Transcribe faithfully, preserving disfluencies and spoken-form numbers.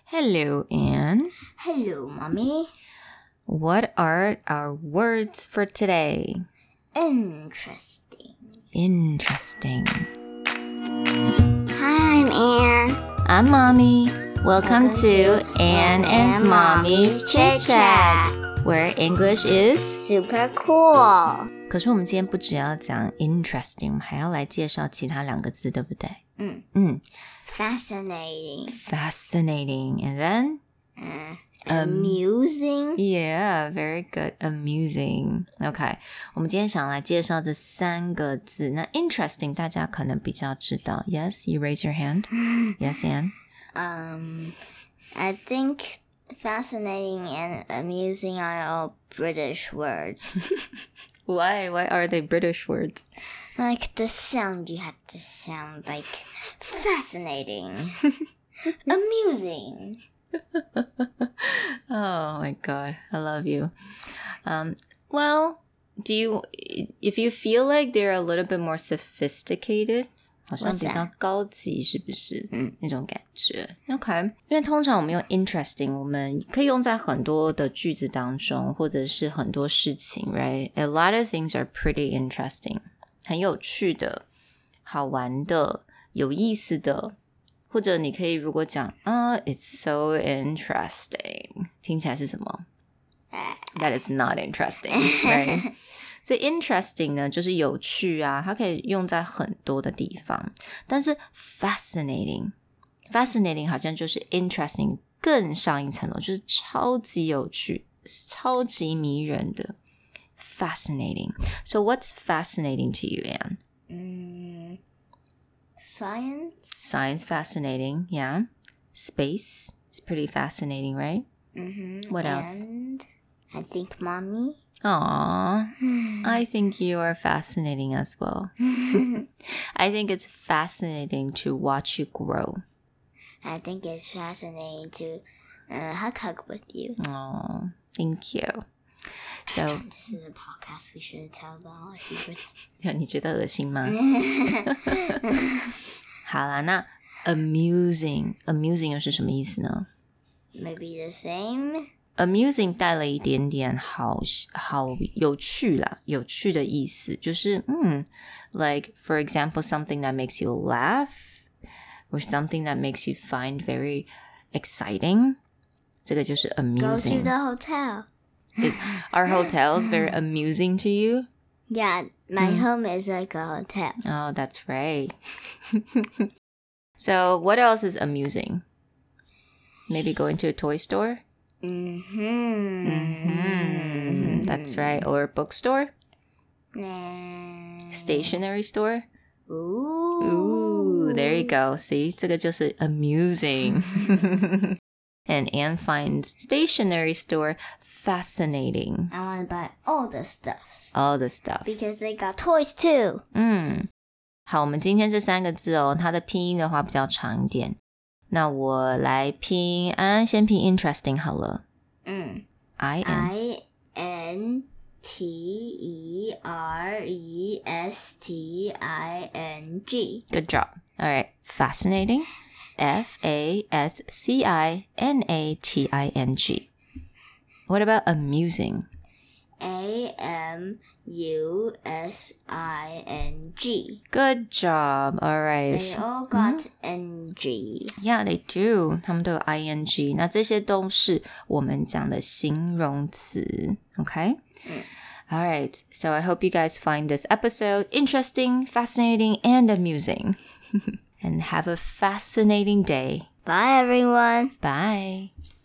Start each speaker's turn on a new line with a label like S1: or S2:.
S1: Hello, Anne.
S2: Hello, Mommy.
S1: What are our words for today?
S2: Interesting.
S1: Interesting.
S2: Hi, I'm Anne.
S1: I'm Mommy. Welcome,
S2: Welcome
S1: to,
S2: to
S1: Anne
S2: Anne
S1: and
S2: and
S1: Mommy's
S2: Mommy's
S1: Chit
S2: Chit
S1: Chat,
S2: Chat.
S1: where English is...
S2: Super cool.
S1: 可是我们今天不只要讲 interesting, 我们还要来介绍其他两个字，对不对？
S2: 嗯
S1: 嗯
S2: Fascinating.
S1: Fascinating. And then?
S2: Uh,
S1: Um,
S2: amusing.
S1: Yeah, very good. Amusing. Okay. 我们今天想来介绍这三个字。那 interesting 大家可能比较知道。Yes, you raise your hand. Yes, Anne?
S2: Um, I think fascinating and amusing are all British words.
S1: Why? Why are they British words?
S2: Like the sound you had to sound like fascinating. Amusing.
S1: Oh my god, I love you. Um, well, do you, if you feel like they're a little bit more sophisticated, 好像比较高级，是不是？嗯，那种感觉。OK， 因为通常我们用 interesting， 我们可以用在很多的句子当中，或者是很多事情 ，right? A lot of things are pretty interesting， 很有趣的、好玩的、有意思的。或者你可以如果讲啊、uh, it's so interesting 听起来是什么 That is not interesting right 所以 interesting 呢就是有趣啊，它可以用在很多的地方，但是 fascinating fascinating 好像就是 interesting 更上一层楼，就是超级有趣超级迷人的 fascinating. So what's fascinating to you, Anne?
S2: Mm, science?
S1: Science fascinating, yeah. Space is pretty fascinating, right?
S2: Mm-hmm.
S1: What else?
S2: And I think Mommy.
S1: Aww, I think you are fascinating as well. I think it's fascinating to watch you grow.
S2: I think it's fascinating to uh, hug hug with you.
S1: Aww, thank you. So
S2: This is a podcast. We shouldn't tell about our secrets.
S1: 你觉得恶心吗？好啦，那 amusing amusing 又是什么意思呢？
S2: Maybe the same.
S1: Amusing 带了一点点好好有趣啦，有趣的意思，就是嗯 like for example something that makes you laugh or something that makes you find very exciting. 这个就是 amusing.
S2: Go to the hotel.
S1: Are hotels very amusing to you?
S2: Yeah, my mm. home is like a hotel.
S1: Oh, that's right. So what else is amusing? Maybe going to a toy store?
S2: Mm-hmm.
S1: Mm-hmm. That's right. Or a bookstore?
S2: Nah.
S1: Stationery store?
S2: Ooh.
S1: Ooh, there you go. See, 这个就是 amusing. And Anne finds stationery store fascinating.
S2: I want to buy all the stuff.
S1: All the stuff.
S2: Because they got toys too.
S1: 嗯，好，我们今天这三个字哦，它的拼音的话比较长一点。那我来拼，安安先拼 interesting 好了。
S2: 嗯
S1: I N
S2: I N T E R E S T I N G.
S1: Good job. All right. Fascinating. F A S C I N A T I N G. What about amusing?
S2: A M U S I N G.
S1: Good job. All right.
S2: They all got N G.
S1: Yeah, they do. 他们都有 I N G. 那这些都是我们讲的形容词。Okay?
S2: Mm.
S1: All right. So I hope you guys find this episode interesting, fascinating, and amusing. And have a fascinating day.
S2: Bye, everyone.
S1: Bye.